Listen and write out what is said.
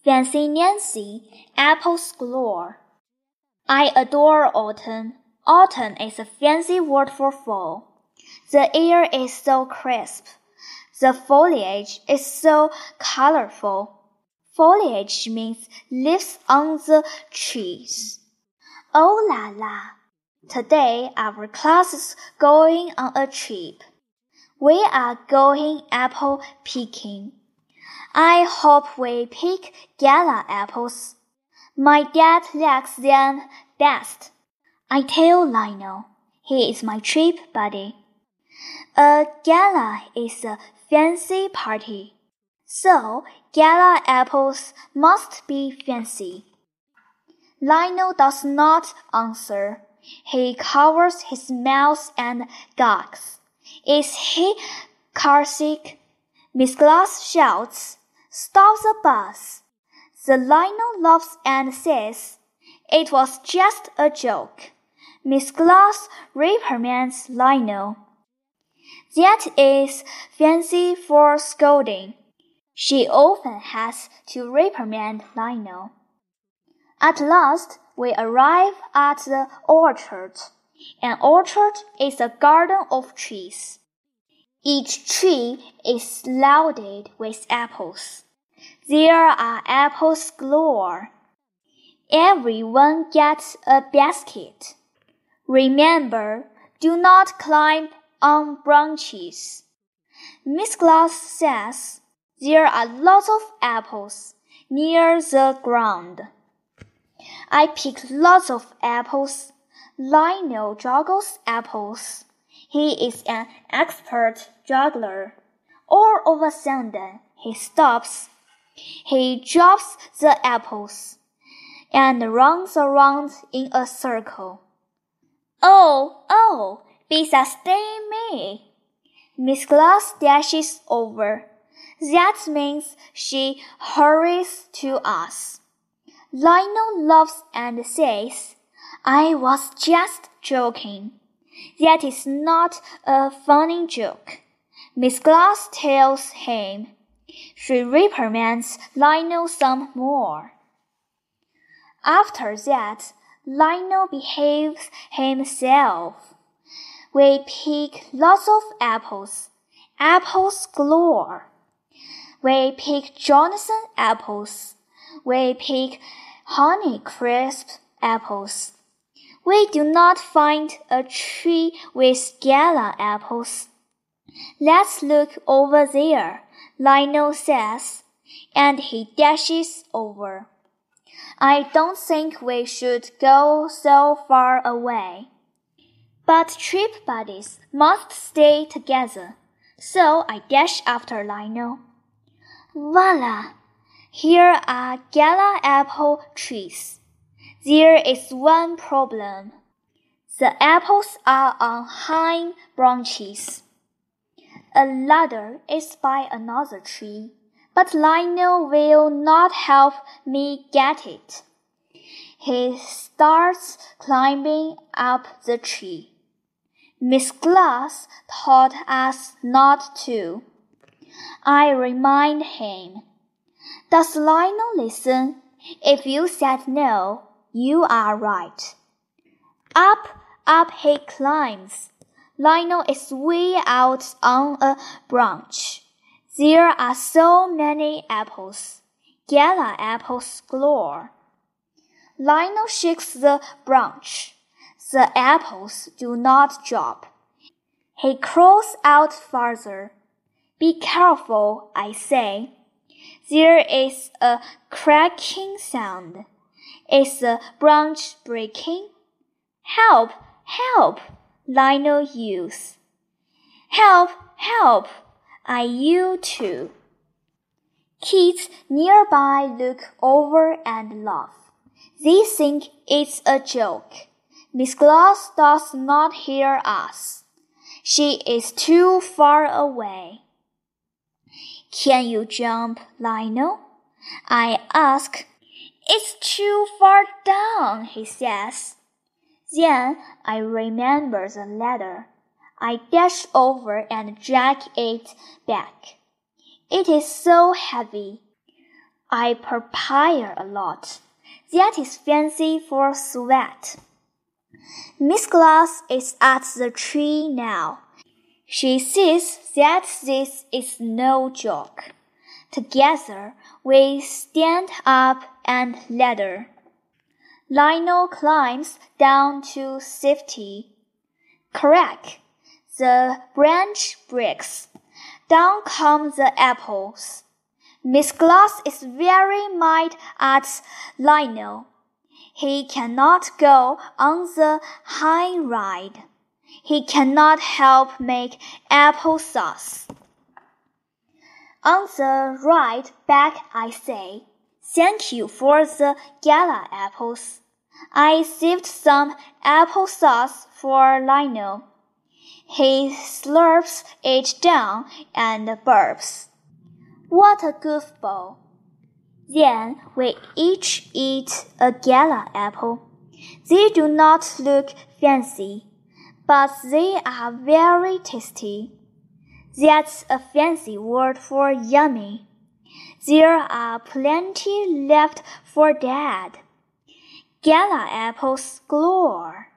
Fancy Nancy, apples galore. I adore autumn. Autumn is a fancy word for fall. The air is so crisp. The foliage is so colorful. Foliage means leaves on the trees. Oh la la! Today our class is going on a trip. We are going apple picking. I hope we pick gala apples. My dad likes them best. I tell Lionel, he is my trip buddy. A gala is a fancy party, so gala apples must be fancy. Lionel does not answer. He covers his mouth and gags. Is he carsick? Miss Glass shouts, "Stop the bus!" The Lionel laughs and says, "It was just a joke." Miss Glass reprimands Lionel. That is fancy for scolding. She often has to reprimand Lionel. At last, we arrive at the orchard. An orchard is a garden of trees. Each tree is loaded with apples. There are apples galore. Everyone gets a basket. Remember, do not climb on branches. Miss Glass says there are lots of apples near the ground. I pick lots of apples. Lionel juggles apples. He is an expert juggler. All of a sudden, he stops. He drops the apples and runs around in a circle. Oh, Bisa sting me! Miss Glass dashes over. That means she hurries to us. Lionel laughs and says, "I was just joking." That is not a funny joke. Miss Glass tells him. She reprimands Lionel some more. After that, Lionel behaves himself. We pick lots of apples. Apples galore. We pick Jonathan apples. We pick Honeycrisp apples. We do not find a tree with gala apples. Let's look over there, Lionel says, and he dashes over. I don't think we should go so far away. But trip buddies must stay together, so I dash after Lionel. Voila! Here are gala apple trees. There is one problem. The apples are on high branches. A ladder is by another tree, but Lionel will not help me get it. He starts climbing up the tree. Miss Glass taught us not to. I remind him. Does Lionel listen? If you said no, you are right. Up he climbs. Lionel is way out on a branch. There are so many apples. Gala apples galore. Lionel shakes the branch. The apples do not drop. He crawls out farther. Be careful, I say. There is a cracking sound. Is the branch breaking? Help! Help! Lionel yells. Help! Help! I yell too. Kids nearby look over and laugh. They think it's a joke. Miss Glass does not hear us. She is too far away. Can you jump, Lionel? I ask. It's too far down, he says. Then I remember the ladder. I dash over and drag it back. It is so heavy. I perspire a lot. That is fancy for sweat. Miss Glass is at the tree now. She sees that this is no joke. Together we stand up and ladder. Lionel climbs down to safety. Crack! The branch breaks. Down come the apples. Miss Glass is very mad at Lionel. He cannot go on the high ride. He cannot help make applesauce. On the ride back I say, "Thank you for the gala apples. I saved some applesauce for Lionel." He slurps it down and burps. What a goofball. Then we each eat a gala apple. They do not look fancy, but they are very tasty. That's a fancy word for yummy. There are plenty left for Dad. Gala apples galore.